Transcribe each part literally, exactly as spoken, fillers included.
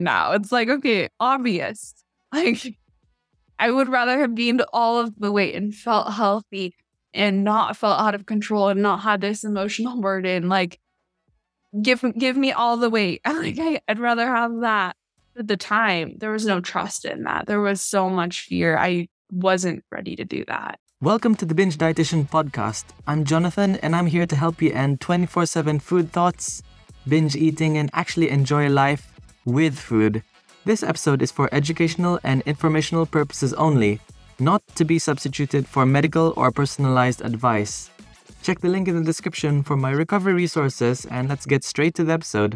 now. It's like, okay, obvious. Like, I would rather have gained all of the weight and felt healthy and not felt out of control and not had this emotional burden. Like, give give me all the weight. Like, I, I'd rather have that. At the time, there was no trust in that. There was so much fear. I wasn't ready to do that. Welcome to the Binge Dietitian Podcast. I'm Jonathan, and I'm here to help you end twenty-four seven food thoughts, binge eating, and actually enjoy life with food. This episode is for educational and informational purposes only, not to be substituted for medical or personalized advice. Check the link in the description for my recovery resources, and let's get straight to the episode.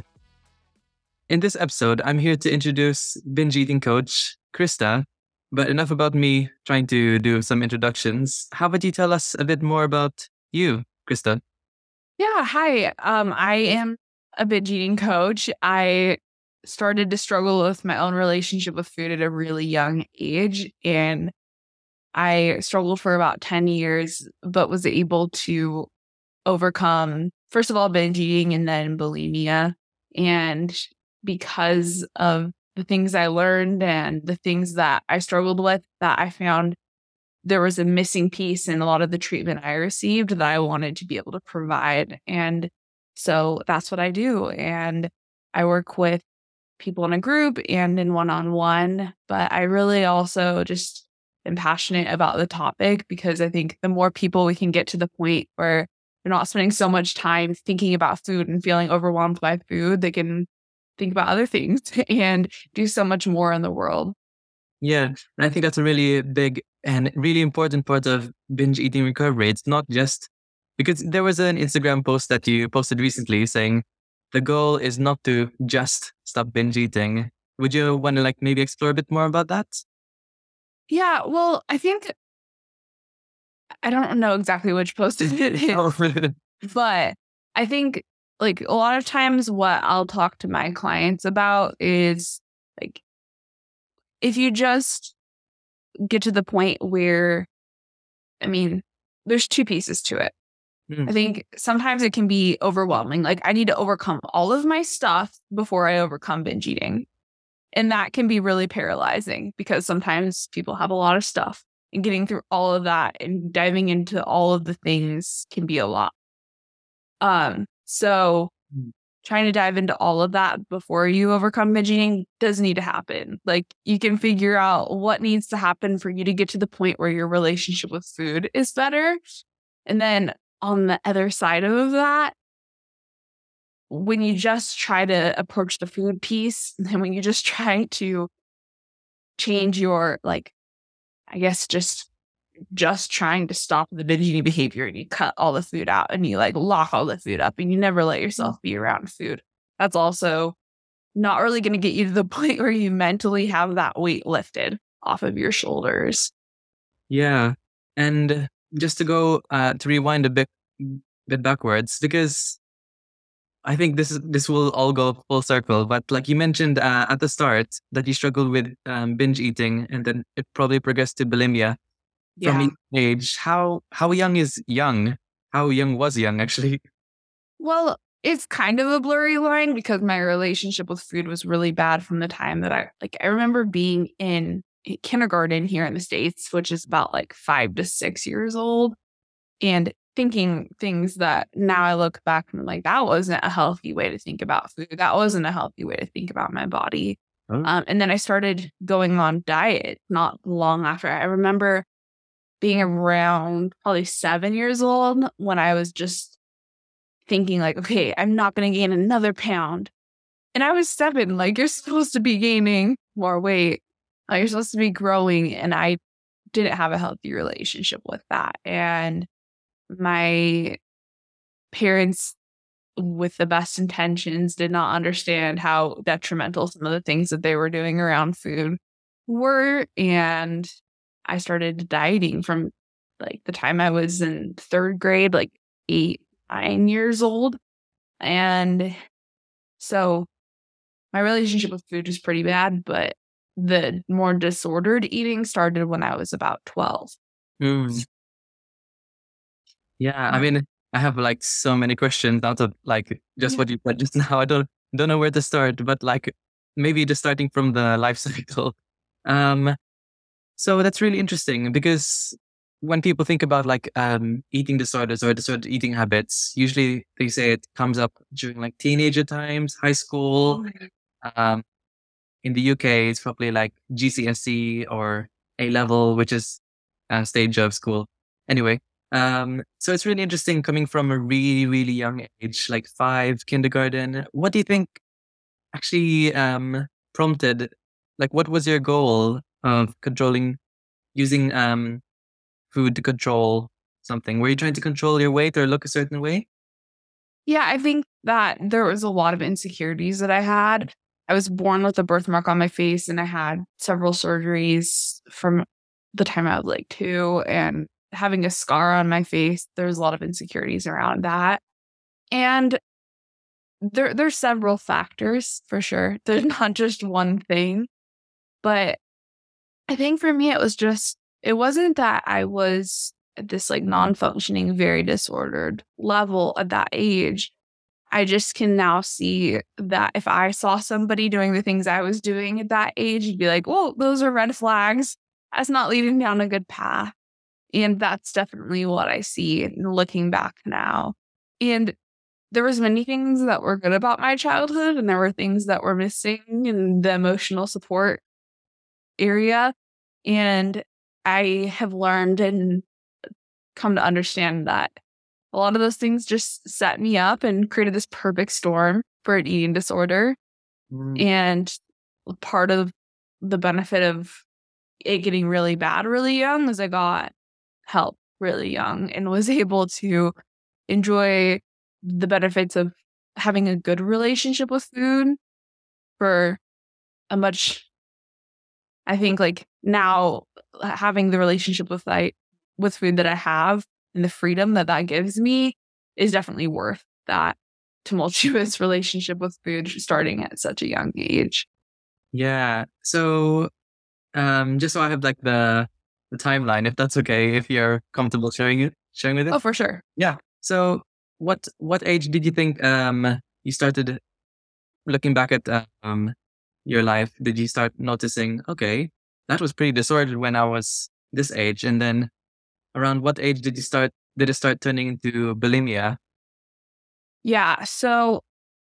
In this episode, I'm here to introduce binge eating coach, Krista. But enough about me trying to do some introductions. How about you tell us a bit more about you, Krista? Yeah, hi. Um, I am a binge eating coach. I started to struggle with my own relationship with food at a really young age. And I struggled for about ten years, but was able to overcome, first of all, binge eating and then bulimia. And because of the things I learned and the things that I struggled with, that I found there was a missing piece in a lot of the treatment I received that I wanted to be able to provide. And so that's what I do. And I work with people in a group and in one-on-one, but I really also just am passionate about the topic because I think the more people we can get to the point where they're not spending so much time thinking about food and feeling overwhelmed by food, they can think about other things and do so much more in the world. Yeah, and I think that's a really big and really important part of binge eating recovery. It's not just because there was an Instagram post that you posted recently saying the goal is not to just stop binge eating. Would you want to like maybe explore a bit more about that? Yeah, well, I think I don't know exactly which post it is, but I think like a lot of times what I'll talk to my clients about is like, if you just get to the point where, I mean, there's two pieces to it. Mm. I think sometimes it can be overwhelming. Like I need to overcome all of my stuff before I overcome binge eating. And that can be really paralyzing because sometimes people have a lot of stuff and getting through all of that and diving into all of the things can be a lot. Um, so trying to dive into all of that before you overcome binge eating does need to happen. Like you can figure out what needs to happen for you to get to the point where your relationship with food is better. And then on the other side of that, when you just try to approach the food piece, and when you just try to change your, like, I guess just just trying to stop the binge eating behavior and you cut all the food out and you like lock all the food up and you never let yourself be around food. That's also not really going to get you to the point where you mentally have that weight lifted off of your shoulders. Yeah. And just to go, uh, to rewind a bit, bit backwards, because I think this is, this will all go full circle. But like you mentioned uh, at the start that you struggled with um, binge eating and then it probably progressed to bulimia. Yeah. From each age, how how young is young? How young was young, actually? Well, it's kind of a blurry line because my relationship with food was really bad from the time that I, like, I remember being in kindergarten here in the States, which is about like five to six years old, and thinking things that now I look back and I'm like, that wasn't a healthy way to think about food. That wasn't a healthy way to think about my body. Oh. Um, and then I started going on diet not long after. I remember being around probably seven years old when I was just thinking like, okay, I'm not going to gain another pound. And I was seven, like you're supposed to be gaining more weight. Like, you're supposed to be growing. And I didn't have a healthy relationship with that. And my parents, with the best intentions, did not understand how detrimental some of the things that they were doing around food were. And I started dieting from like the time I was in third grade, like eight, nine years old. And so my relationship with food was pretty bad, but the more disordered eating started when I was about twelve. Mm. Yeah, I mean, I have like so many questions out of like just yeah. what you said just now. I don't don't know where to start, but like maybe just starting from the life cycle. Um, so that's really interesting because when people think about like um, eating disorders or disordered eating habits, usually they say it comes up during like teenager times, high school. Um, in the U K, it's probably like G C S E or A level, which is a stage of school. Anyway, um, so it's really interesting coming from a really, really young age, like five, kindergarten. What do you think actually um, prompted, like, what was your goal of controlling, using um, food to control something? Were you trying to control your weight or look a certain way? Yeah, I think that there was a lot of insecurities that I had. I was born with a birthmark on my face, and I had several surgeries from the time I was like two, and having a scar on my face, there was a lot of insecurities around that. And there there's several factors for sure. There's not just one thing, but I think for me it was just it wasn't that I was at this like non-functioning, very disordered level at that age. I just can now see that if I saw somebody doing the things I was doing at that age, you'd be like, "Well, those are red flags. That's not leading down a good path." And that's definitely what I see looking back now. And there was many things that were good about my childhood, and there were things that were missing in the emotional support area. And I have learned and come to understand that a lot of those things just set me up and created this perfect storm for an eating disorder. Mm. And part of the benefit of it getting really bad really young was I got help really young and was able to enjoy the benefits of having a good relationship with food for a much, I think like now having the relationship with like with food that I have and the freedom that that gives me is definitely worth that tumultuous relationship with food starting at such a young age. Yeah. So, um, just so I have like the the timeline, if that's okay, if you're comfortable sharing it, sharing with it. Oh, for sure. Yeah. So, what what age did you think um you started looking back at um your life? Did you start noticing, okay, that was pretty disordered when I was this age, and then around what age did you start? Did it start turning into bulimia? Yeah. So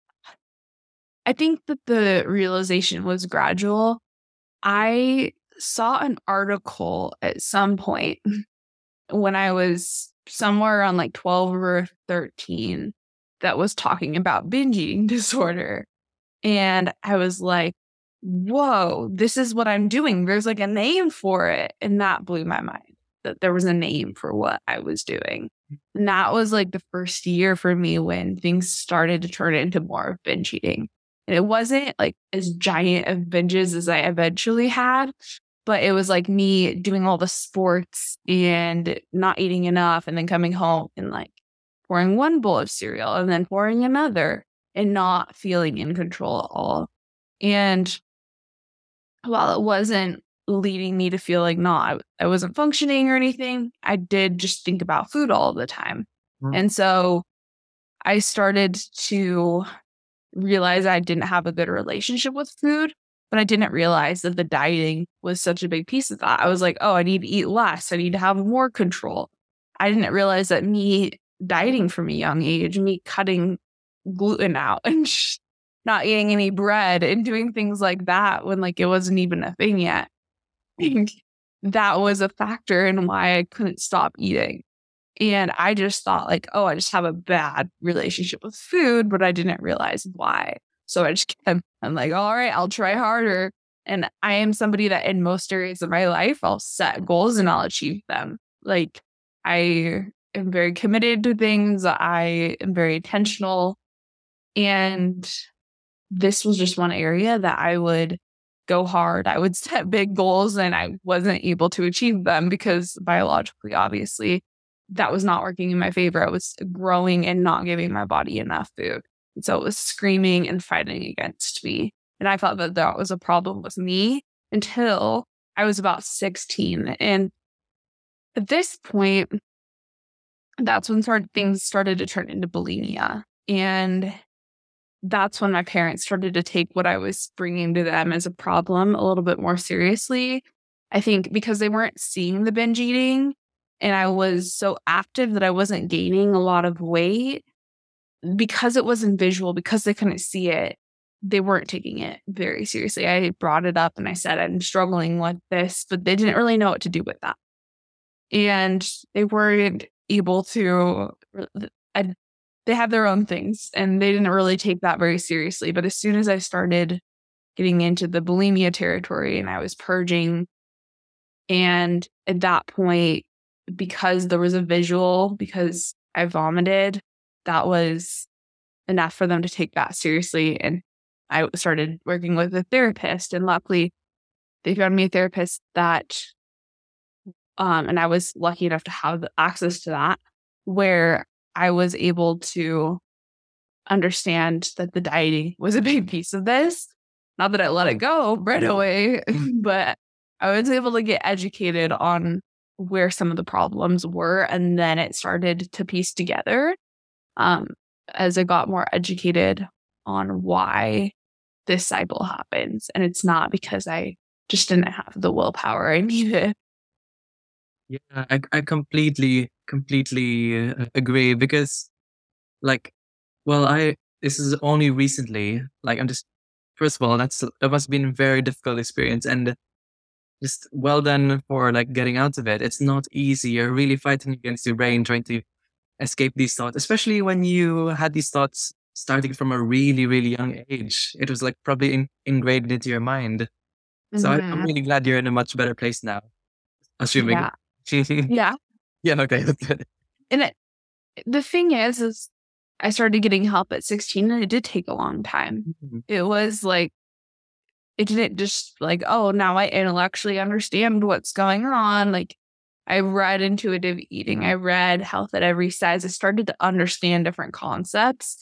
I think that the realization was gradual. I saw an article at some point when I was somewhere around like twelve or thirteen that was talking about binge eating disorder. And I was like, whoa, this is what I'm doing. There's like a name for it. And that blew my mind that there was a name for what I was doing. And that was like the first year for me when things started to turn into more of binge eating. And it wasn't like as giant of binges as I eventually had, but it was like me doing all the sports and not eating enough and then coming home and like pouring one bowl of cereal and then pouring another and not feeling in control at all. And while it wasn't leading me to feel like, no, I, I wasn't functioning or anything, I did just think about food all the time. Mm. And so I started to realize I didn't have a good relationship with food, but I didn't realize that the dieting was such a big piece of that. I was like, oh, I need to eat less. I need to have more control. I didn't realize that me dieting from a young age, me cutting gluten out and sh- not eating any bread and doing things like that when like it wasn't even a thing yet. That was a factor in why I couldn't stop eating. And I just thought like, oh, I just have a bad relationship with food, but I didn't realize why. So I just kept, I'm like, all right, I'll try harder. And I am somebody that in most areas of my life, I'll set goals and I'll achieve them. Like I am very committed to things. I am very intentional. And this was just one area that I would go hard. I would set big goals and I wasn't able to achieve them because biologically, obviously, that was not working in my favor. I was growing and not giving my body enough food. And so it was screaming and fighting against me. And I thought that that was a problem with me until I was about sixteen. And at this point, that's when started, things started to turn into bulimia. And that's when my parents started to take what I was bringing to them as a problem a little bit more seriously. I think because they weren't seeing the binge eating and I was so active that I wasn't gaining a lot of weight, because it wasn't visual, because they couldn't see it, they weren't taking it very seriously. I brought it up and I said, I'm struggling with this, but they didn't really know what to do with that. And they weren't able to, I, they have their own things and they didn't really take that very seriously. But as soon as I started getting into the bulimia territory and I was purging, and at that point, because there was a visual, because I vomited, that was enough for them to take that seriously. And I started working with a therapist, and luckily they found me a therapist that, um, and I was lucky enough to have access to that, where I was able to understand that the dieting was a big piece of this. Not that I let it go right away, but I was able to get educated on where some of the problems were. And then it started to piece together um, as I got more educated on why this cycle happens. And it's not because I just didn't have the willpower I needed. Yeah, I, I completely, completely uh, agree because, like, well, I, this is only recently, like, I'm just, first of all, that's, that must have been a very difficult experience. And just well done for like getting out of it. It's not easy. You're really fighting against your brain, trying to escape these thoughts, especially when you had these thoughts starting from a really, really young age. It was like probably in, ingrained into your mind. So mm-hmm. I, I'm really glad you're in a much better place now. Assuming. Yeah. yeah. Yeah. Okay. That's good. And it, the thing is, is I started getting help at sixteen, and it did take a long time. Mm-hmm. It was like, it didn't just like, oh, now I intellectually understand what's going on. Like, I read intuitive eating. I read Health at Every Size. I started to understand different concepts,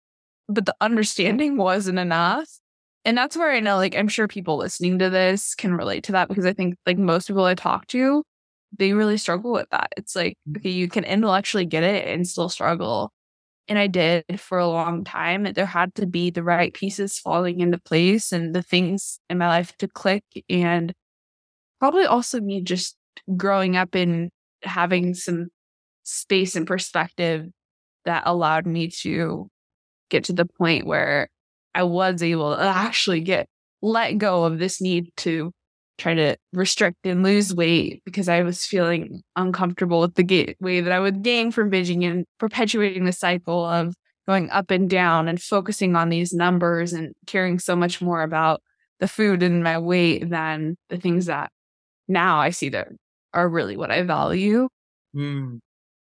but the understanding wasn't enough. And that's where I know, like, I'm sure people listening to this can relate to that, because I think, like, most people I talk to, they really struggle with that. It's like, okay, you can intellectually get it and still struggle. And I did for a long time. There had to be the right pieces falling into place and the things in my life to click. And probably also me just growing up and having some space and perspective that allowed me to get to the point where I was able to actually get let go of this need to try to restrict and lose weight, because I was feeling uncomfortable with the ga- way that I would gain from binging and perpetuating the cycle of going up and down and focusing on these numbers and caring so much more about the food and my weight than the things that now I see that are really what I value. Mm.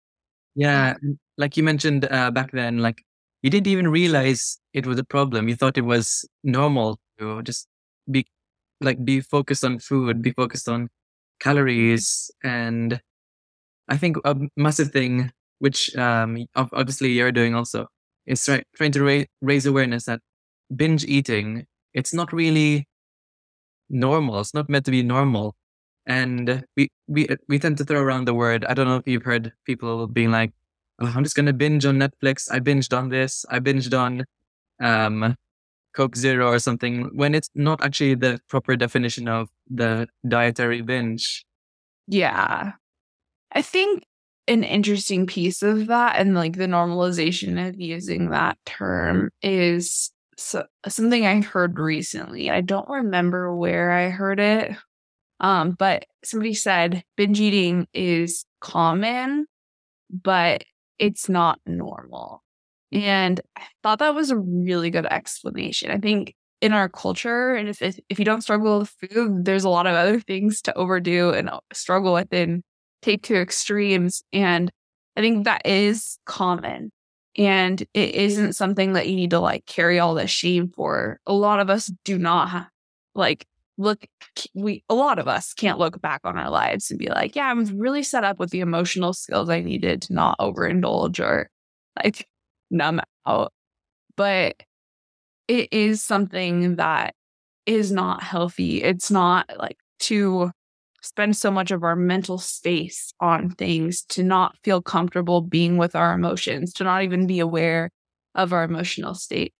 Yeah. Like you mentioned uh, back then, like you didn't even realize it was a problem. You thought it was normal to just be like be focused on food, be focused on calories. And I think a massive thing, which um, obviously you're doing also, is try, trying to ra- raise awareness that binge eating, it's not really normal. It's not meant to be normal. And we, we, we tend to throw around the word. I don't know if you've heard people being like, oh, I'm just going to binge on Netflix. I binged on this. I binged on um, Coke Zero or something, when it's not actually the proper definition of the dietary binge. Yeah. I think an interesting piece of that, and like the normalization of using that term, is so, something I heard recently. I don't remember where I heard it, um, but somebody said binge eating is common, but it's not normal. And I thought that was a really good explanation. I think in our culture, and if if you don't struggle with food, there's a lot of other things to overdo and struggle with and take to extremes. And I think that is common. And it isn't something that you need to like carry all this shame for. A lot of us do not have, like, look, we, a lot of us can't look back on our lives and be like, yeah, I'm really set up with the emotional skills I needed to not overindulge or like numb out. But it is something that is not healthy. It's not like to spend so much of our mental space on things, to not feel comfortable being with our emotions, to not even be aware of our emotional state.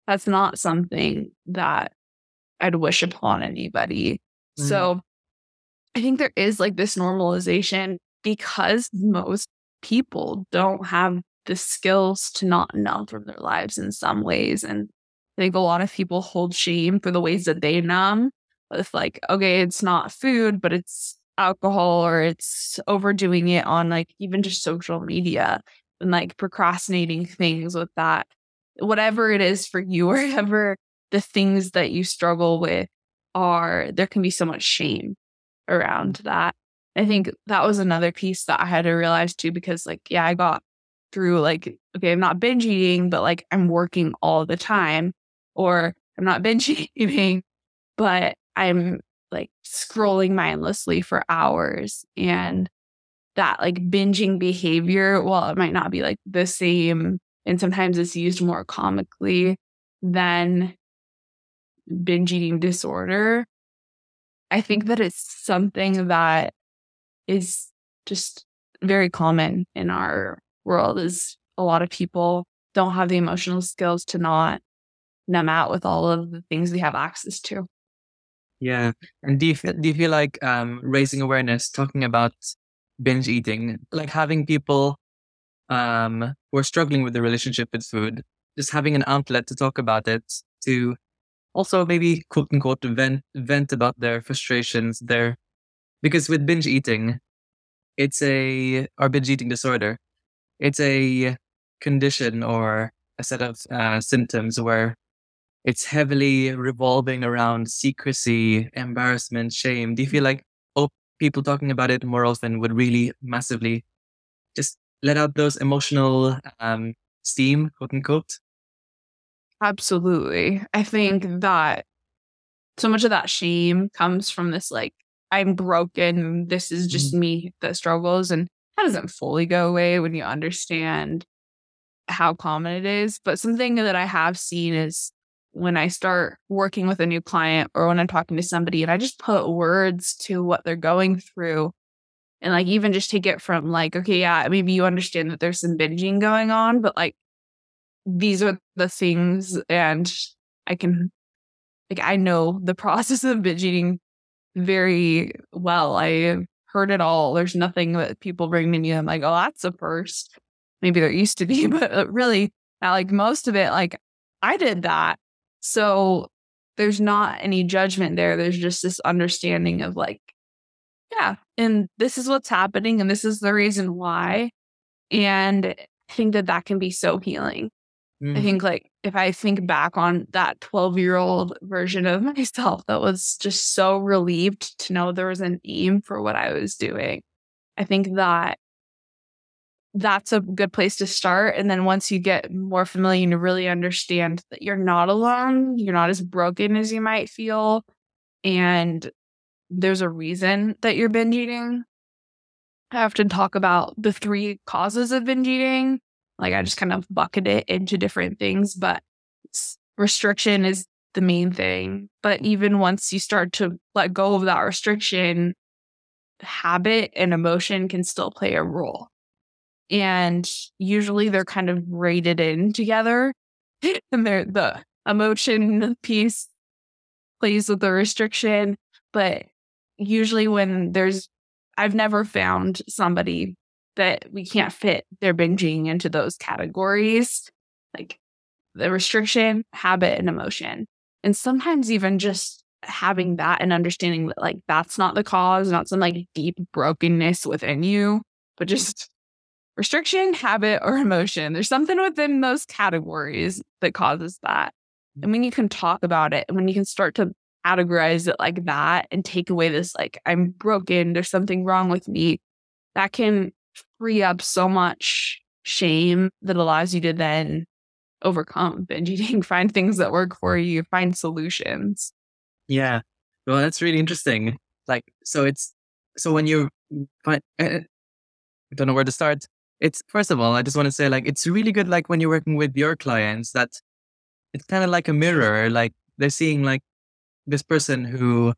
that's not something that I'd wish upon anybody. Mm. So I think there is like this normalization because most people don't have the skills to not numb from their lives in some ways. And I think a lot of people hold shame for the ways that they numb. It's like, okay, it's not food, but it's alcohol, or it's overdoing it on like even just social media and like procrastinating things with that. Whatever it is for you, wherever the things that you struggle with are, there can be so much shame around that. I think that was another piece that I had to realize too, because like, yeah, I got through like, okay, I'm not binge eating, but like I'm working all the time, or I'm not binge eating, but I'm like scrolling mindlessly for hours. And that like binging behavior, while it might not be like the same, and sometimes it's used more comically than binge eating disorder, I think that it's something that is just very common in our world. Is a lot of people don't have the emotional skills to not numb out with all of the things we have access to. Yeah. And do you feel, do you feel like um, raising awareness, talking about binge eating, like having people um, who are struggling with the relationship with food, just having an outlet to talk about it, to also maybe quote unquote vent, vent about their frustrations, their, because with binge eating, it's a, or binge eating disorder, it's a condition or a set of uh, symptoms where it's heavily revolving around secrecy, embarrassment, shame. Do you feel like oh, people talking about it more often would really massively just let out those emotional um, steam, quote unquote? Absolutely. I think that so much of that shame comes from this, like, I'm broken. This is just mm-hmm. me that struggles. And that doesn't fully go away when you understand how common it is. But something that I have seen is when I start working with a new client, or when I'm talking to somebody and I just put words to what they're going through, and like even just take it from like, okay, yeah, maybe you understand that there's some binging going on, but like these are the things, and I can, like, I know the process of binge eating very well. I heard it all. There's nothing that people bring to me. I'm like, oh, that's a first. Maybe there used to be, but really, like most of it, like I did that. So there's not any judgment there. There's just this understanding of like, yeah, and this is what's happening, and this is the reason why. And I think that that can be so healing. Mm. I think like if I think back on that twelve year old version of myself that was just so relieved to know there was an aim for what I was doing, I think that that's a good place to start. And then once you get more familiar and you really understand that you're not alone, you're not as broken as you might feel, and there's a reason that you're binge eating. I often talk about the three causes of binge eating. Like I just kind of bucket it into different things, but restriction is the main thing. But even once you start to let go of that restriction, habit and emotion can still play a role. And usually they're kind of braided in together. And they're, the emotion piece plays with the restriction. But usually when there's, I've never found somebody that we can't fit their binging into those categories, like the restriction, habit, and emotion. And sometimes even just having that and understanding that like that's not the cause, not some like deep brokenness within you, but just restriction, habit, or emotion. There's something within those categories that causes that. And when you can talk about it, and when you can start to categorize it like that and take away this, like, I'm broken, there's something wrong with me, that can free up so much shame that allows you to then overcome binge eating, find things that work for you, find solutions. Yeah. Well, that's really interesting. Like, so it's, so when you find, I don't know where to start. It's, first of all, I just want to say, like, it's really good, like, when you're working with your clients, that it's kind of like a mirror. Like, they're seeing, like, this person who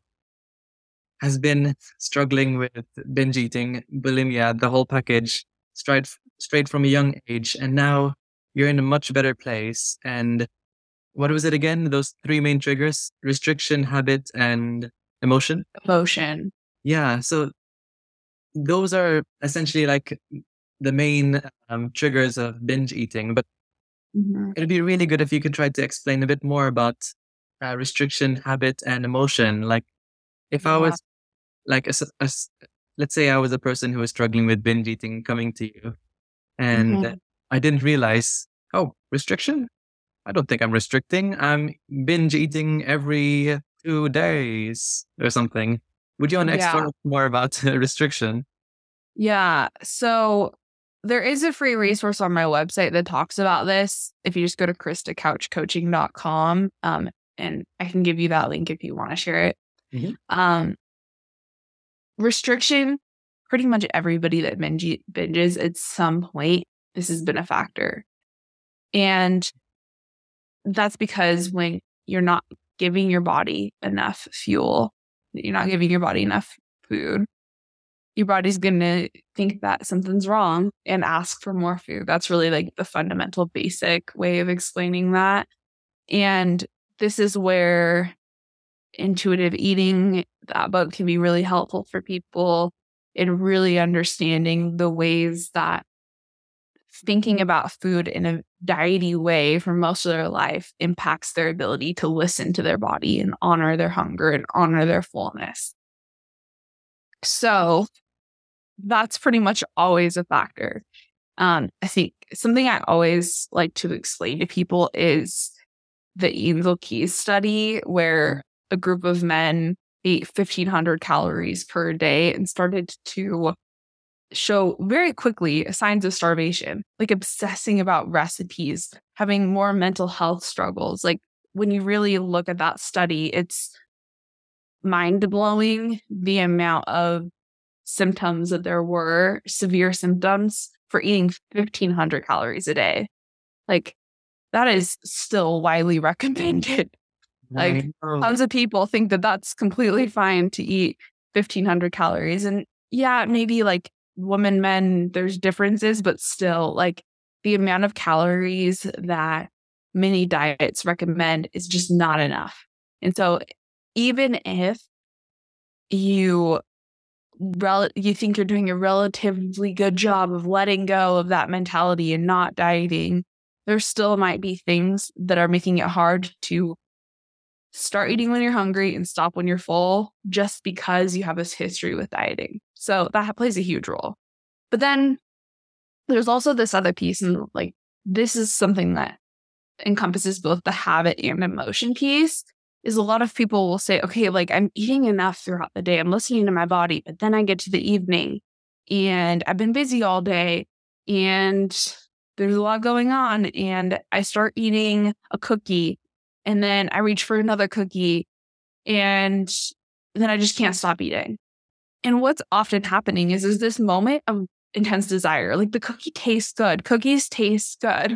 has been struggling with binge eating, bulimia, the whole package, straight, straight from a young age. And now you're in a much better place. And what was it again? Those three main triggers: restriction, habit, and emotion. Emotion. Yeah. So those are essentially like the main um, triggers of binge eating. But Mm-hmm. it'd be really good if you could try to explain a bit more about uh, restriction, habit, and emotion. Like if I Yeah. was like, a, s- a s- let's say I was a person who was struggling with binge eating coming to you, and Mhm. I didn't realize, oh, restriction? I don't think I'm restricting. I'm binge eating every two days or something. Would you want to Yeah. explore more about uh, restriction? Yeah. So there is a free resource on my website that talks about this. If you just go to krista couch coaching dot com, um, and I can give you that link if you want to share it. Mhm. Um, restriction, pretty much everybody that binge, binges at some point, this has been a factor. And that's because when you're not giving your body enough fuel, you're not giving your body enough food, your body's going to think that something's wrong and ask for more food. That's really like the fundamental basic way of explaining that. And this is where intuitive eating, that book, can be really helpful for people in really understanding the ways that thinking about food in a diety way for most of their life impacts their ability to listen to their body and honor their hunger and honor their fullness. So that's pretty much always a factor. Um, I think something I always like to explain to people is the Angel Keys study, where a group of men ate fifteen hundred calories per day and started to show very quickly signs of starvation, like obsessing about recipes, having more mental health struggles. Like when you really look at that study, it's mind-blowing the amount of symptoms that there were, severe symptoms, for eating fifteen hundred calories a day. Like that is still widely recommended. Like Right. tons of people think that that's completely fine to eat fifteen hundred calories. And yeah, maybe like women, men, there's differences, but still like the amount of calories that many diets recommend is just not enough. And so even if you rel- you think you're doing a relatively good job of letting go of that mentality and not dieting, there still might be things that are making it hard to start eating when you're hungry and stop when you're full, just because you have this history with dieting. So that plays a huge role. But then there's also this other piece, and like this is something that encompasses both the habit and emotion piece. Is a lot of people will say, okay, like I'm eating enough throughout the day, I'm listening to my body, but then I get to the evening and I've been busy all day and there's a lot going on, and I start eating a cookie and then I reach for another cookie and then I just can't stop eating. And what's often happening is there's this moment of intense desire. Like the cookie tastes good. Cookies taste good.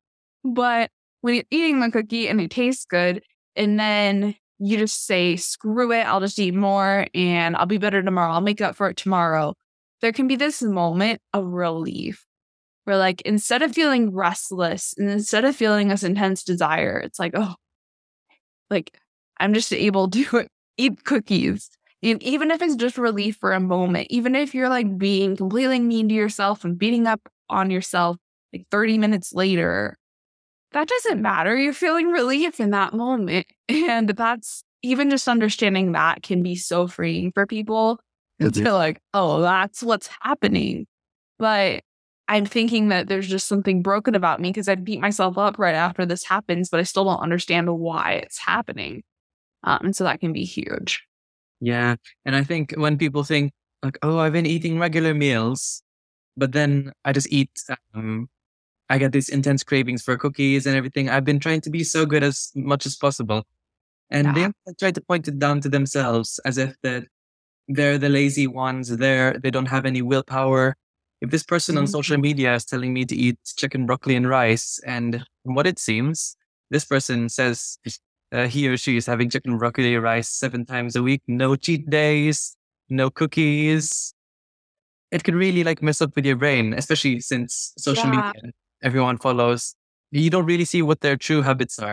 But when you're eating the cookie and it tastes good, and then you just say, screw it, I'll just eat more and I'll be better tomorrow, I'll make up for it tomorrow, there can be this moment of relief where, like, instead of feeling restless and instead of feeling this intense desire, it's like, oh, like, I'm just able to eat cookies. And even if it's just relief for a moment, even if you're like being completely mean to yourself and beating up on yourself like thirty minutes later, that doesn't matter. You're feeling relief in that moment. And that's, even just understanding that can be so freeing for people. It's like, oh, that's what's happening. But I'm thinking that there's just something broken about me because I beat myself up right after this happens, but I still don't understand why it's happening. Um, and so that can be huge. Yeah. And I think when people think like, oh, I've been eating regular meals, but then I just eat, um, I get these intense cravings for cookies and everything. I've been trying to be so good as much as possible. And Yeah. they try to point it down to themselves as if that they're the lazy ones. They're, they don't have any willpower. If this person on Mhm. social media is telling me to eat chicken, broccoli, and rice, and from what it seems, this person says uh, he or she is having chicken, broccoli, rice seven times a week, no cheat days, no cookies. It could really like mess up with your brain, especially since social Yeah. media, everyone follows. You don't really see what their true habits are.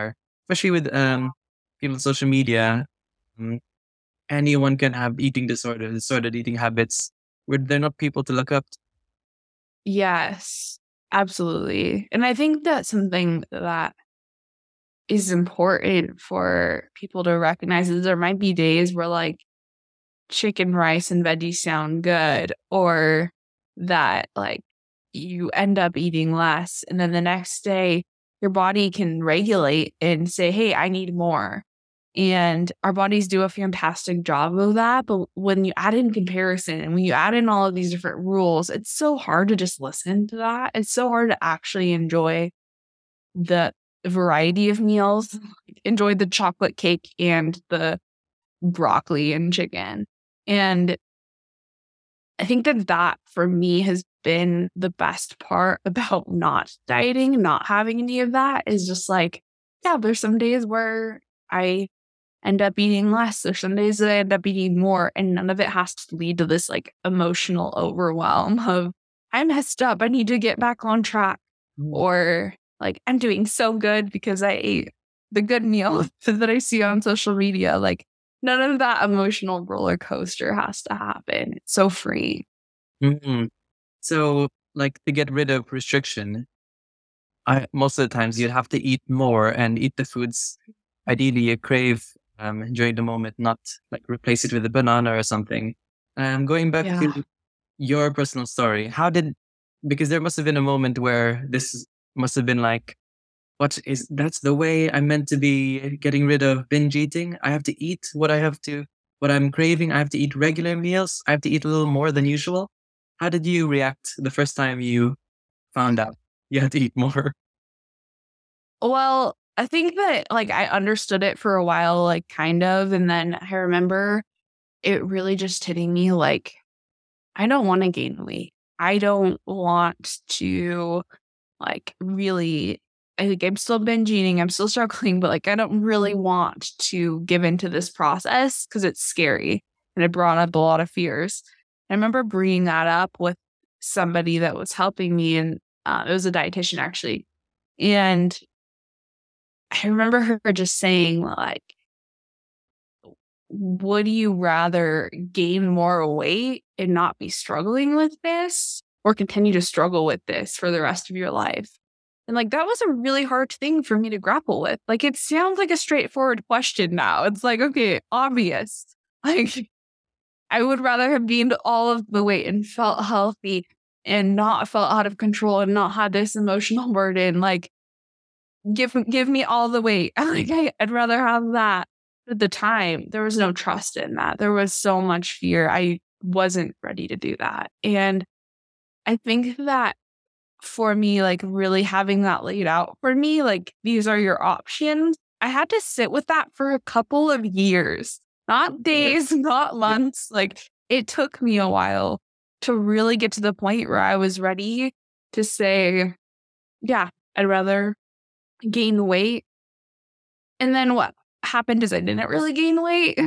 especially with um people on social media, um, anyone can have eating disorders, disordered eating habits, where they're not people to look up to. Yes, absolutely. And I think that's something that is important for people to recognize is there might be days where like chicken, rice, and veggies sound good, or that like you end up eating less. And then the next day, your body can regulate and say, hey, I need more. And our bodies do a fantastic job of that. But when you add in comparison and when you add in all of these different rules, it's so hard to just listen to that. It's so hard to actually enjoy the variety of meals, enjoy the chocolate cake and the broccoli and chicken. And I think that that for me has been the best part about not dieting, not having any of that is just like, yeah, there's some days where I end up eating less. There's some days that I end up eating more, and none of it has to lead to this like emotional overwhelm of I messed up. I need to get back on track. Mm. Or like I'm doing so good because I ate the good meal that I see on social media. Like none of that emotional roller coaster has to happen. It's so free. Mm-hmm. So like to get rid of restriction, I most of the times you'd have to eat more and eat the foods ideally you crave um, during the moment, not like replace it with a banana or something. Um, going back Yeah. to your personal story, how did, because there must have been a moment where this must have been like, what is, that's the way I'm meant to be getting rid of binge eating. I have to eat what I have to, what I'm craving. I have to eat regular meals. I have to eat a little more than usual. How did you react the first time you found out you had to eat more? Well, I think that like I understood it for a while, like kind of. And then I remember it really just hitting me like, I don't want to gain weight. I don't want to like really, I think I'm still binge eating. I'm still struggling, but like I don't really want to give into this process because it's scary. And it brought up a lot of fears. I remember bringing that up with somebody that was helping me, and uh, it was a dietitian actually. And I remember her just saying, like, would you rather gain more weight and not be struggling with this, or continue to struggle with this for the rest of your life? And like, that was a really hard thing for me to grapple with. Like, it sounds like a straightforward question now. It's like, okay, obvious. Like, I would rather have gained all of the weight and felt healthy and not felt out of control and not had this emotional burden. Like, give give me all the weight. Like, I, I'd rather have that. At the time, there was no trust in that. There was so much fear. I wasn't ready to do that. And I think that for me, like really having that laid out for me, like these are your options. I had to sit with that for a couple of years, not days, not months. Like it took me a while to really get to the point where I was ready to say, yeah, I'd rather gain weight. And then what happened is I didn't really gain weight,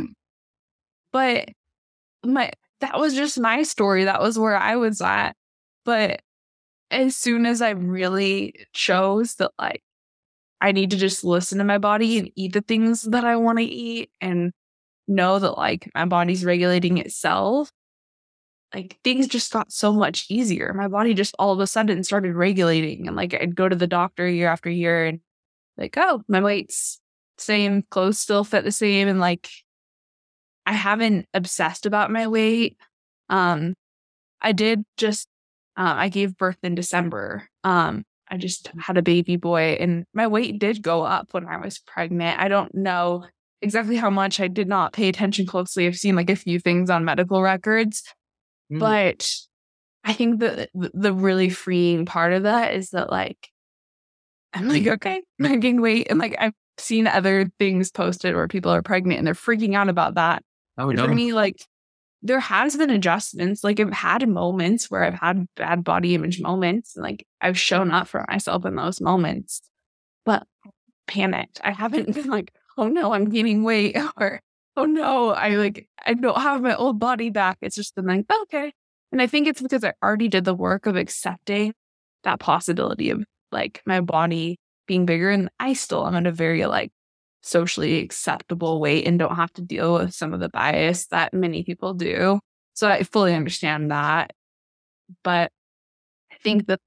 but my that was just my story. That was where I was at. But as soon as I really chose that, like, I need to just listen to my body and eat the things that I want to eat and know that, like, my body's regulating itself, like, things just got so much easier. My body just all of a sudden started regulating. And, like, I'd go to the doctor year after year and, like, oh, my weight's same, clothes still fit the same. And, like, I haven't obsessed about my weight. Um, I did just Uh, I gave birth in December. Um, I just had a baby boy, and my weight did go up when I was pregnant. I don't know exactly how much. I did not pay attention closely. I've seen like a few things on medical records, mm. but I think that the really freeing part of that is that, like, I'm like, okay, I gained weight, and like I've seen other things posted where people are pregnant and they're freaking out about that. Oh, and no. For me, like, there has been adjustments. Like, I've had moments where I've had bad body image moments, and like I've shown up for myself in those moments, but panicked. I haven't been like, oh no, I'm gaining weight, or oh no, I like I don't have my old body back. It's just been like, okay. And I think it's because I already did the work of accepting that possibility of like my body being bigger, and I still am at a very like socially acceptable weight and don't have to deal with some of the bias that many people do. So I fully understand that. But I think that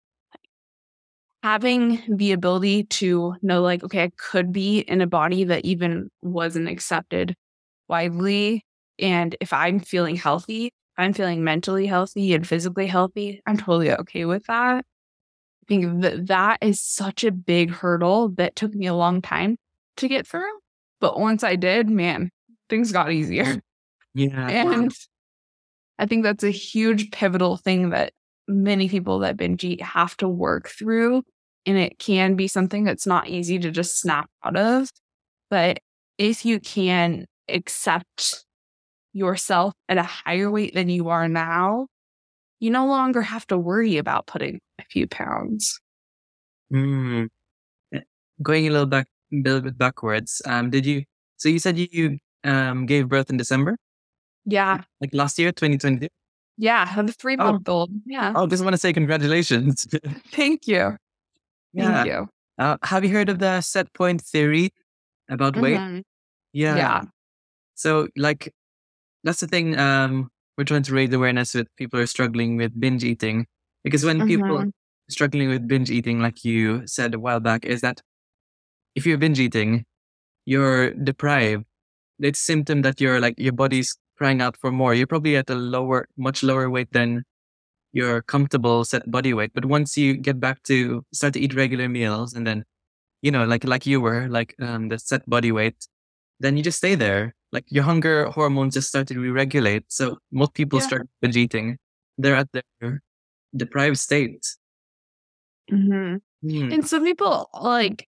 having the ability to know, like, okay, I could be in a body that even wasn't accepted widely. And if I'm feeling healthy, I'm feeling mentally healthy and physically healthy, I'm totally okay with that. I think that that is such a big hurdle that took me a long time to get through. But once I did, man, things got easier. Yeah. And I think that's a huge pivotal thing that many people that binge eat have to work through. And it can be something that's not easy to just snap out of. But if you can accept yourself at a higher weight than you are now, you no longer have to worry about putting a few pounds. Mm. Going a little back, a little bit backwards. Um, did you? So you said you, you um gave birth in December, Yeah. like last year, twenty twenty-two. Yeah. I have a three month old. Yeah. Oh, just want to say congratulations. Thank you. Yeah. Thank you. Uh, have you heard of the set point theory about weight? Mhm. Yeah. Yeah. So, like, that's the thing. Um, we're trying to raise awareness with people who are struggling with binge eating, because when people Mhm. struggling with binge eating, like you said a while back, is that if you're binge eating, you're deprived. It's a symptom that you're like your body's crying out for more. You're probably at a lower, much lower weight than your comfortable set body weight. But once you get back to start to eat regular meals, and then, you know, like like you were, like um the set body weight, then you just stay there. Like your hunger hormones just start to re-regulate. So most people Yeah. start binge eating. They're at their deprived state. Mhm. Hmm. And some people like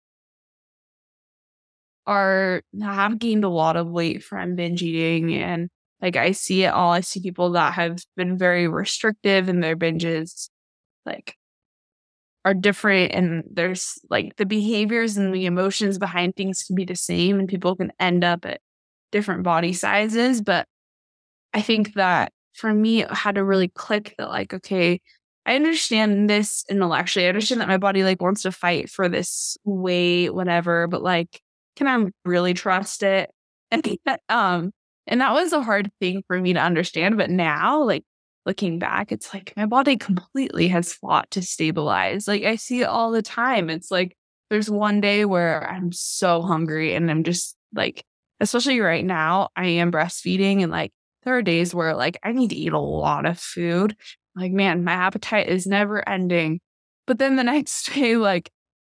are have gained a lot of weight from binge eating, and like I see it all. I see people that have been very restrictive in their binges, like are different, and there's like the behaviors and the emotions behind things can be the same, and people can end up at different body sizes. But I think that for me, it had to really click that, like, okay, I understand this intellectually. I understand that my body like wants to fight for this weight, whatever, but like, can I really trust it? And that, um, and that was a hard thing for me to understand. But now, like looking back, it's like my body completely has fought to stabilize. Like I see it all the time. It's like there's one day where I'm so hungry and I'm just like, especially right now, I am breastfeeding, and like there are days where like I need to eat a lot of food. Like, man, my appetite is never ending. But then the next day, like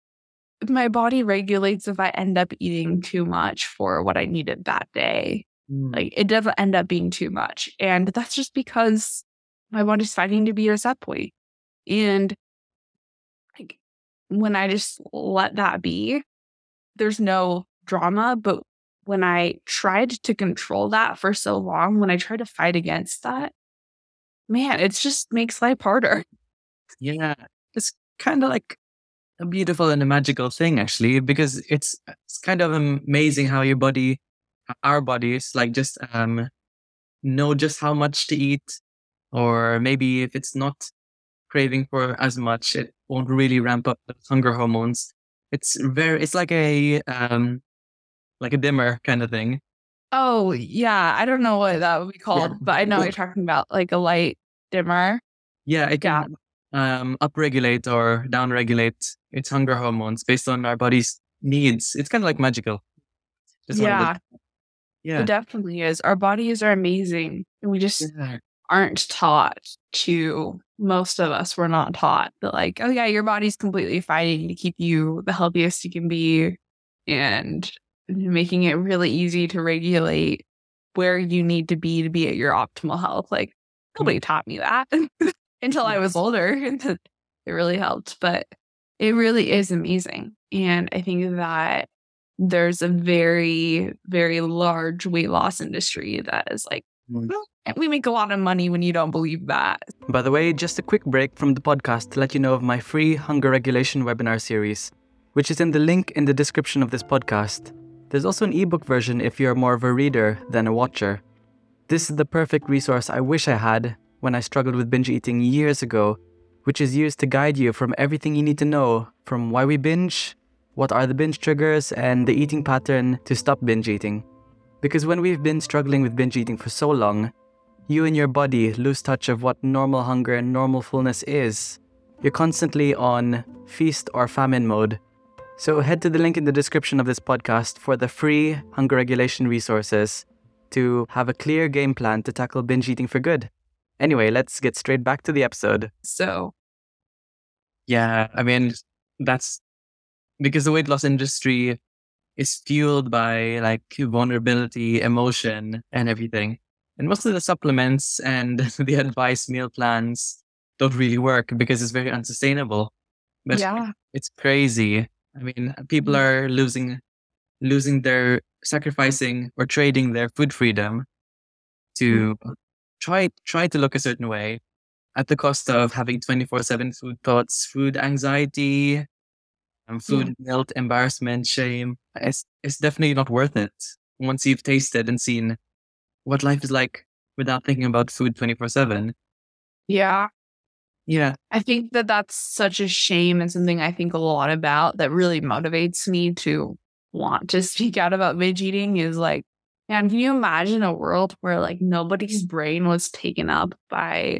my body regulates if I end up eating too much for what I needed that day. Mm. Like it doesn't end up being too much. And that's just because my body's fighting to be at a set point. And like when I just let that be, there's no drama. But when I tried to control that for so long, when I tried to fight against that, man, it just makes life harder. Yeah, it's kind of like a beautiful and a magical thing, actually, because it's it's kind of amazing how your body, our bodies, like just um know just how much to eat, or maybe if it's not craving for as much, it won't really ramp up those hunger hormones. It's very, it's like a um like a dimmer kind of thing. Oh, yeah. I don't know what that would be called, Yeah. but I know what you're talking about, like a light dimmer. Yeah, it Yeah. can um upregulate or downregulate its hunger hormones based on our body's needs. It's kind of like magical. Just one of Yeah, those. Yeah. it definitely is. Our bodies are amazing. And we just Yeah. aren't taught to, most of us were not taught that, like, oh, yeah, your body's completely fighting to keep you the healthiest you can be, and making it really easy to regulate where you need to be to be at your optimal health. Like, nobody taught me that until I was older. It really helped. But it really is amazing. And I think that there's a very, very large weight loss industry that is like, well, we make a lot of money when you don't believe that. By the way, just a quick break from the podcast to let you know of my free hunger regulation webinar series, which is in the link in the description of this podcast. There's also an ebook version if you're more of a reader than a watcher. This is the perfect resource I wish I had when I struggled with binge eating years ago, which is used to guide you from everything you need to know, from why we binge, what are the binge triggers, and the eating pattern to stop binge eating. Because when we've been struggling with binge eating for so long, you and your body lose touch of what normal hunger and normal fullness is. You're constantly on feast or famine mode. So head to the link in the description of this podcast for the free hunger regulation resources to have a clear game plan to tackle binge eating for good. Anyway, let's get straight back to the episode. So, yeah, I mean, that's because the weight loss industry is fueled by like vulnerability, emotion, and everything. And most of the supplements and the advice meal plans don't really work because it's very unsustainable. But yeah. it's crazy. I mean, people are losing, losing their, sacrificing or trading their food freedom to mm. try, try to look a certain way at the cost of having twenty-four seven food thoughts, food anxiety, and food yeah. guilt, embarrassment, shame. It's, it's definitely not worth it once you've tasted and seen what life is like without thinking about food twenty-four seven. Yeah. Yeah. I think that that's such a shame and something I think a lot about that really motivates me to want to speak out about binge eating is like, man, can you imagine a world where like nobody's brain was taken up by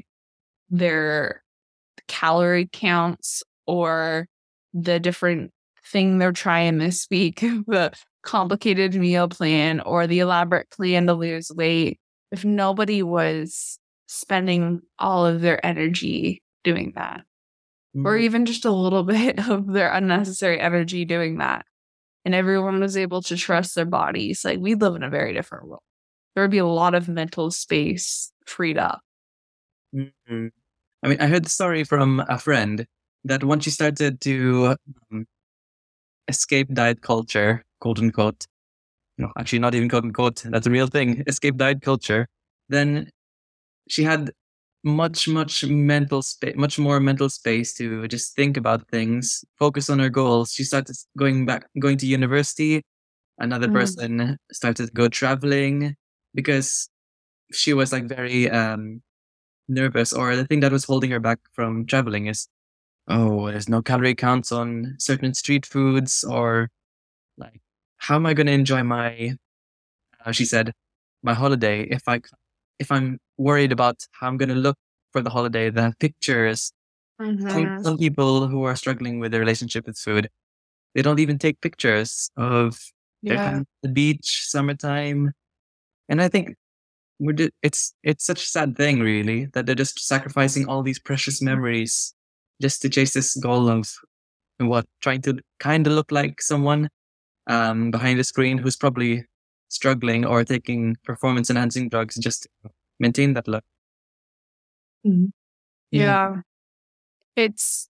their calorie counts or the different thing they're trying to speak, the complicated meal plan or the elaborate plan to lose weight, if nobody was spending all of their energy doing that, mm. or even just a little bit of their unnecessary energy doing that, and everyone was able to trust their bodies, like we'd live in a very different world. There would be a lot of mental space freed up. Mm-hmm. I mean, I heard the story from a friend that once she started to um, escape diet culture, quote unquote, no, actually not even quote unquote, that's a real thing, escape diet culture, then she had much, much mental space, much more mental space to just think about things, focus on her goals. She started going back, going to university. Another mm. person started to go traveling because she was like very um, nervous, or the thing that was holding her back from traveling is, oh, there's no calorie counts on certain street foods, or like, how am I going to enjoy my, uh, she said, my holiday if I, if I'm worried about how I'm going to look for the holiday, the pictures. Mm-hmm. Some people who are struggling with their relationship with food, they don't even take pictures of yeah. their time at the beach, summertime. And I think we're di- it's it's such a sad thing, really, that they're just sacrificing all these precious memories just to chase this goal of what, trying to kind of look like someone um, behind the screen who's probably struggling or taking performance enhancing drugs just to maintain that look. Mm-hmm. Yeah. yeah. It's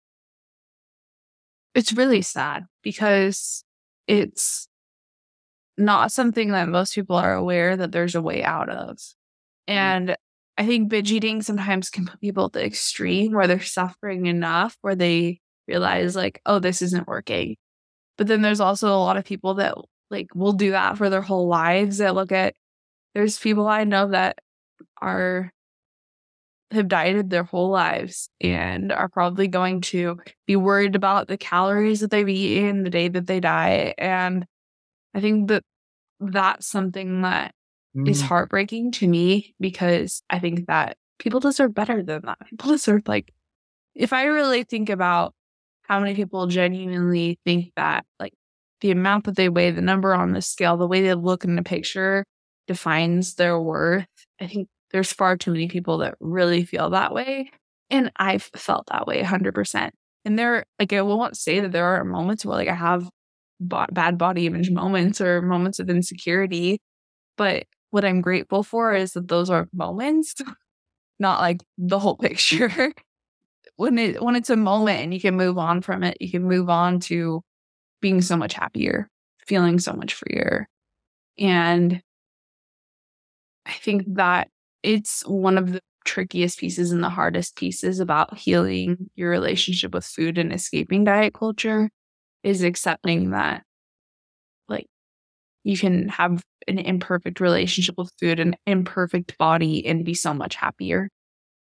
it's really sad because it's not something that most people are aware that there's a way out of. And mm-hmm. I think binge eating sometimes can put people at the extreme where they're suffering enough where they realize like, oh, this isn't working. But then there's also a lot of people that like will do that for their whole lives. That look at, there's people I know that are have dieted their whole lives and are probably going to be worried about the calories that they've eaten the day that they die. And I think that that's something that mm. is heartbreaking to me, because I think that people deserve better than that. People deserve, like, if I really think about how many people genuinely think that, like, the amount that they weigh, the number on the scale, the way they look in the picture defines their worth, I think there's far too many people that really feel that way. And I've felt that way one hundred percent. And there, like, I won't say that there are moments where, like, I have bo- bad body image moments or moments of insecurity. But what I'm grateful for is that those are moments, not like the whole picture. when it when it's a moment and you can move on from it, you can move on to being so much happier, feeling so much freer. And I think that it's one of the trickiest pieces and the hardest pieces about healing your relationship with food and escaping diet culture is accepting that, like, you can have an imperfect relationship with food, an imperfect body, and be so much happier.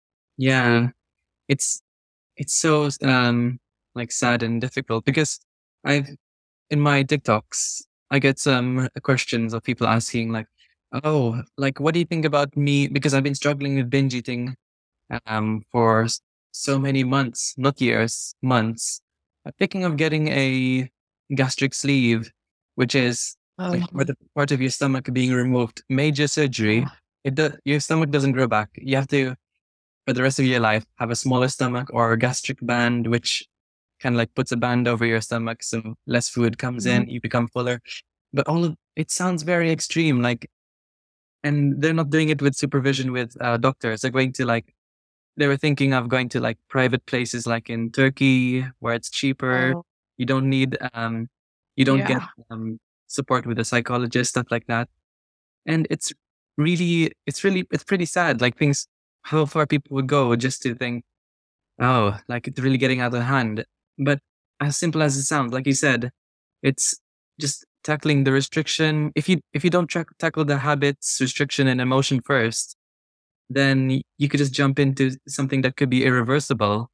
Yeah, it's it's so um like sad and difficult, because I've in my TikToks, I get some questions of people asking like, "Oh, like what do you think about me?" Because I've been struggling with binge eating um for s- so many months, not years, months. I'm thinking of getting a gastric sleeve, which is like Oh, part of, part of your stomach being removed. Major surgery. It do, your stomach doesn't grow back. You have to, for the rest of your life, have a smaller stomach or a gastric band, which kind of like puts a band over your stomach so less food comes mhm. in, you become fuller. But all of it sounds very extreme, like, and they're not doing it with supervision with uh, doctors. They're going to like, they were thinking of going to like private places like in Turkey where it's cheaper. Oh, You don't need, um, you don't get yeah. um, support with a psychologist, stuff like that. And it's really, it's really, it's pretty sad. Like things, how far people would go just to think, oh, like it's really getting out of hand. But as simple as it sounds, like you said, it's just tackling the restriction. If you if you don't tra- tackle the habits, restriction, and emotion first, then y- you could just jump into something that could be irreversible.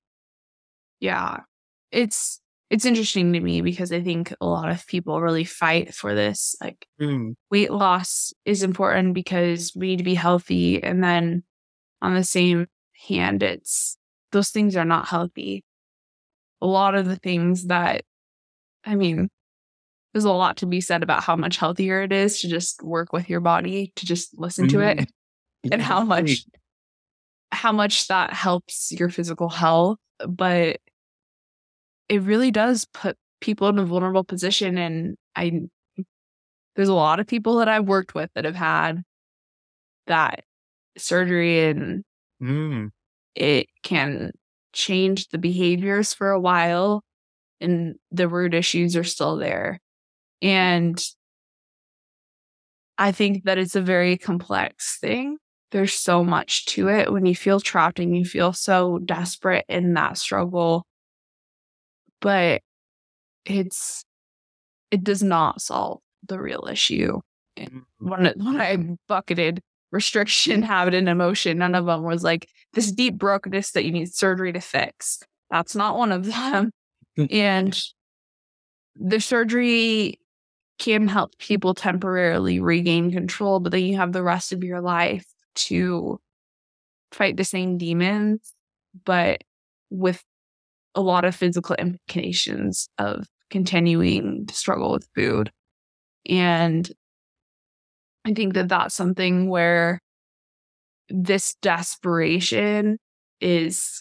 Yeah. It's it's interesting to me because I think a lot of people really fight for this. Like Mm, weight loss is important because we need to be healthy. And then on the same hand, it's those things are not healthy. A lot of the things that I mean, there's a lot to be said about how much healthier it is to just work with your body, to just listen to mm, it, and yeah, how definitely. much how much that helps your physical health. But it really does put people in a vulnerable position. And I there's a lot of people that I've worked with that have had that surgery, and Mm, it can change the behaviors for a while, and the root issues are still there. And I think that it's a very complex thing. There's so much to it when you feel trapped and you feel so desperate in that struggle, but it's it does not solve the real issue. And mm, when it, when I bucketed restriction, habit, and emotion, none of them was like this deep brokenness that you need surgery to fix. That's not one of them. mm, And the surgery can help people temporarily regain control, but then you have the rest of your life to fight the same demons, but with a lot of physical implications of continuing to struggle with food. And I think that that's something where this desperation is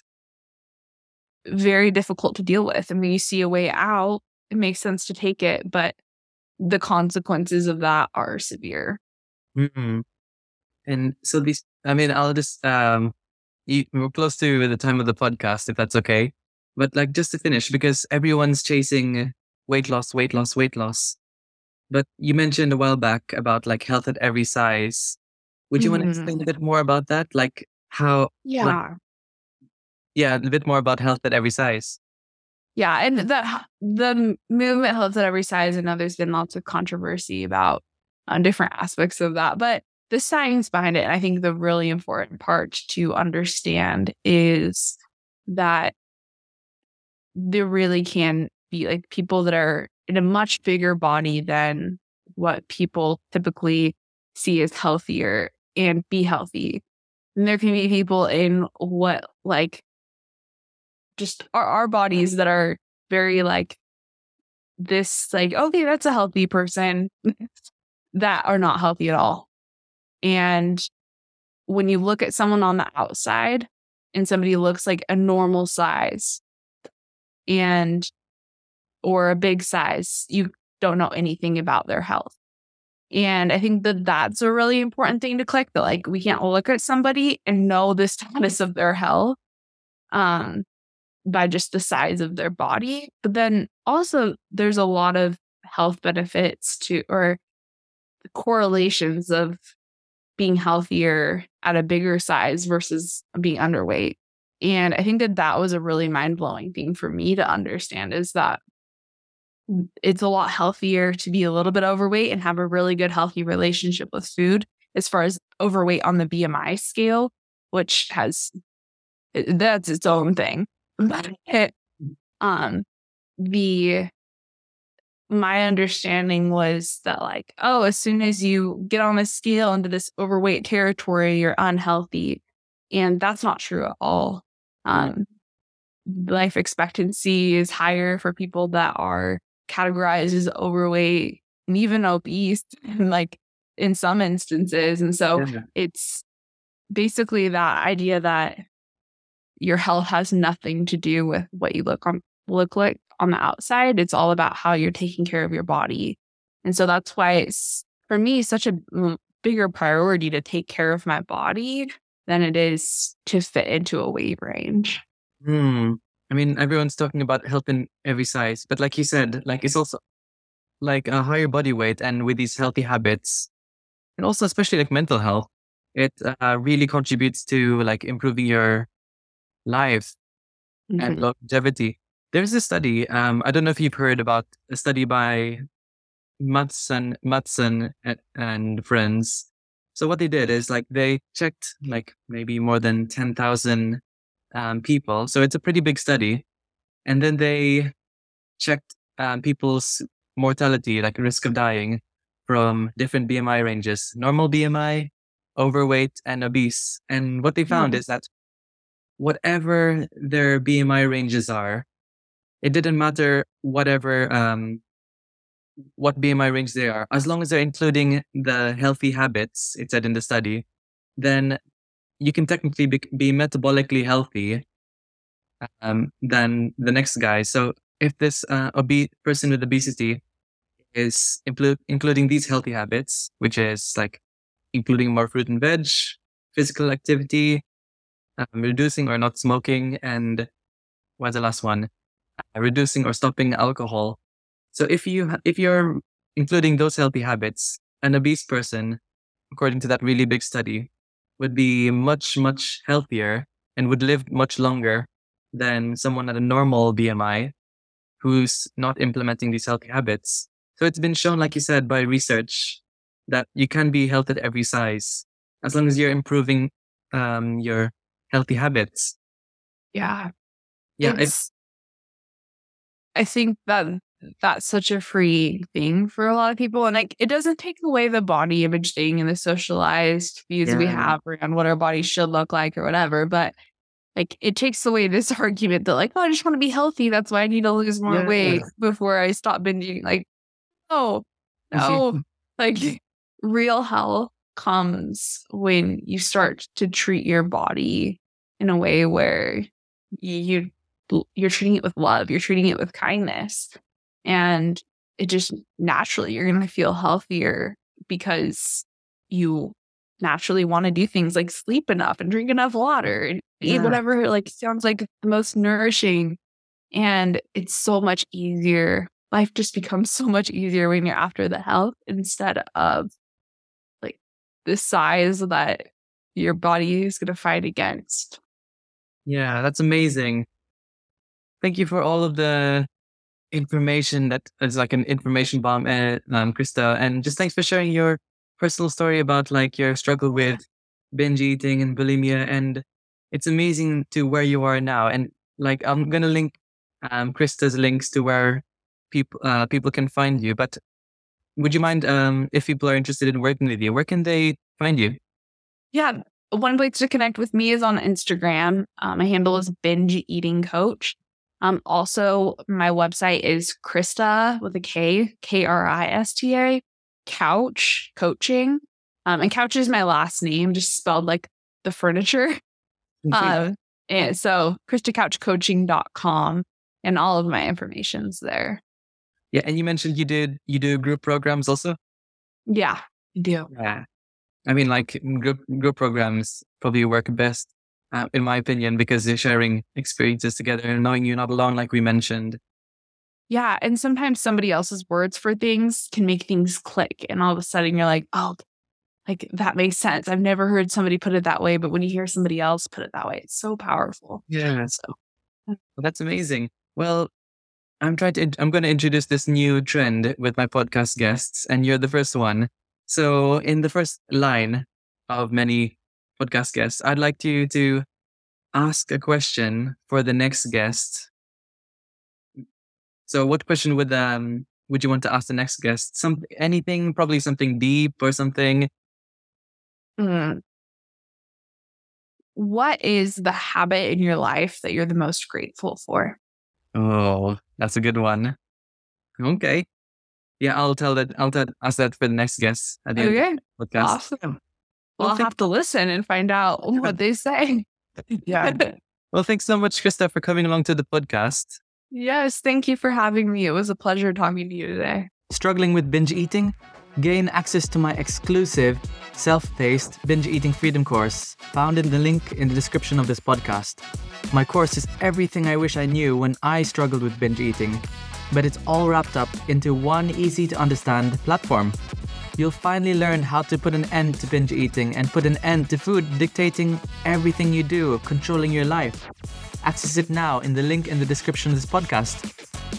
very difficult to deal with. I mean, you see a way out, it makes sense to take it, but the consequences of that are severe. mm. And so these, I mean, I'll just um, you, we're close to the time of the podcast, if that's okay. But like just to finish, because everyone's chasing weight loss, weight loss, weight loss. But you mentioned a while back about like health at every size. Would you want to Mhm. explain a bit more about that? Like how, like, Yeah. yeah, a bit more about health at every size. Yeah. And the, the movement holds at every size. I know there's been lots of controversy about uh, different aspects of that, but the science behind it, and I think the really important part to understand is that there really can be like people that are in a much bigger body than what people typically see as healthier and be healthy. And there can be people in what like just our, our bodies that are very like this, like, okay, that's a healthy person that are not healthy at all. And when you look at someone on the outside and somebody looks like a normal size and or a big size, you don't know anything about their health. And I think that that's a really important thing to click, that like we can't look at somebody and know the status of their health um, by just the size of their body. But then also there's a lot of health benefits to, or correlations of being healthier at a bigger size versus being underweight. And I think that that was a really mind blowing thing for me to understand, is that it's a lot healthier to be a little bit overweight and have a really good, healthy relationship with food, as far as overweight on the B M I scale, which has that's its own thing. But it, um, the my understanding was that like, oh, as soon as you get on the scale into this overweight territory, you're unhealthy. And that's not true at all. Um, life expectancy is higher for people that are categorized as overweight and even obese, like in some instances. And so Yeah. it's basically that idea that your health has nothing to do with what you look on look like on the outside. It's all about how you're taking care of your body. And so that's why it's, for me, such a mm, bigger priority to take care of my body than it is to fit into a weight range. Hmm. I mean, everyone's talking about health in every size, but like you said, like it's also like a higher body weight, and with these healthy habits, and also especially like mental health, it uh, really contributes to like improving your life and Mhm. longevity. There's a study. Um, I don't know if you've heard about a study by Matson, Matson and, and friends. So what they did is like they checked like maybe more than ten thousand um, people. So it's a pretty big study. And then they checked um, people's mortality, like risk of dying from different B M I ranges, normal B M I, overweight, and obese. And what they found Mhm. is that whatever their B M I ranges are, it didn't matter whatever um, what B M I range they are, as long as they're including the healthy habits, it said in the study, then you can technically be, be metabolically healthy um, than the next guy. So if this uh, obe- person with obesity is impl- including these healthy habits, which is like including more fruit and veg, physical activity, um, reducing or not smoking, and what's the last one? Uh, reducing or stopping alcohol. So if you ha- if you're including those healthy habits, an obese person, according to that really big study, would be much much healthier and would live much longer than someone at a normal B M I who's not implementing these healthy habits. So it's been shown, like you said, by research that you can be healthy at every size as long as you're improving um, your healthy habits. Yeah. Yeah, if It's, I think that that's such a free thing for a lot of people. And like, it doesn't take away the body image thing and the socialized views we yeah, have around what our bodies should look like or whatever. But like, it takes away this argument that like, oh, I just want to be healthy. That's why I need to lose more yeah, weight before I stop binging. Like, no, no, like real health comes when you start to treat your body in a way where you you're treating it with love, you're treating it with kindness, and it just naturally you're going to feel healthier because you naturally want to do things like sleep enough and drink enough water and eat yeah, whatever like sounds like the most nourishing. And it's so much easier. Life just becomes so much easier when you're after the health instead of like the size that your body is going to fight against. yeah. That's amazing. Thank you for all of the information that is like an information bomb, uh, um, Krista. And just thanks for sharing your personal story about like your struggle with binge eating and bulimia. And it's amazing to where you are now. And like I'm gonna link um, Krista's links to where people uh, people can find you. But would you mind um, if people are interested in working with you, where can they find you? Yeah. One place to connect with me is on Instagram. Um, my handle is binge eating coach. Um, also, my website is Krista with a K, K R I S T A, Couch Coaching. Um, and Couch is my last name, just spelled like the furniture. Um, and so krista couch coaching dot com, and all of my information's there. Yeah, and you mentioned you did you do group programs also. Yeah, I do. Yeah. I mean, like group group programs probably work best, uh, in my opinion, because they're sharing experiences together and knowing you're not alone, like we mentioned. Yeah. And sometimes somebody else's words for things can make things click. And all of a sudden you're like, oh, like that makes sense. I've never heard somebody put it that way. But when you hear somebody else put it that way, it's so powerful. Yeah, So, well, that's amazing. Well, I'm trying to. int- I'm going to introduce this new trend with my podcast guests, and you're the first one. So, in the first line of many podcast guests, I'd like you to ask a question for the next guest. So, what question would um would you want to ask the next guest? Some anything, probably something deep or something. Mm. What is the habit in your life that you're the most grateful for? Oh, that's a good one. Okay. Yeah, I'll tell that. I'll tell, ask that for the next guest at the Okay. end of the podcast. Awesome. Well, Well, I'll thank- have to listen and find out what they say. Yeah. Well, thanks so much, Krista, for coming along to the podcast. Yes, thank you for having me. It was a pleasure talking to you today. Struggling with binge eating? Gain access to my exclusive self-paced binge eating freedom course found in the link in the description of this podcast. My course is everything I wish I knew when I struggled with binge eating, but it's all wrapped up into one easy to understand platform. You'll finally learn how to put an end to binge eating and put an end to food dictating everything you do, controlling your life. Access it now in the link in the description of this podcast.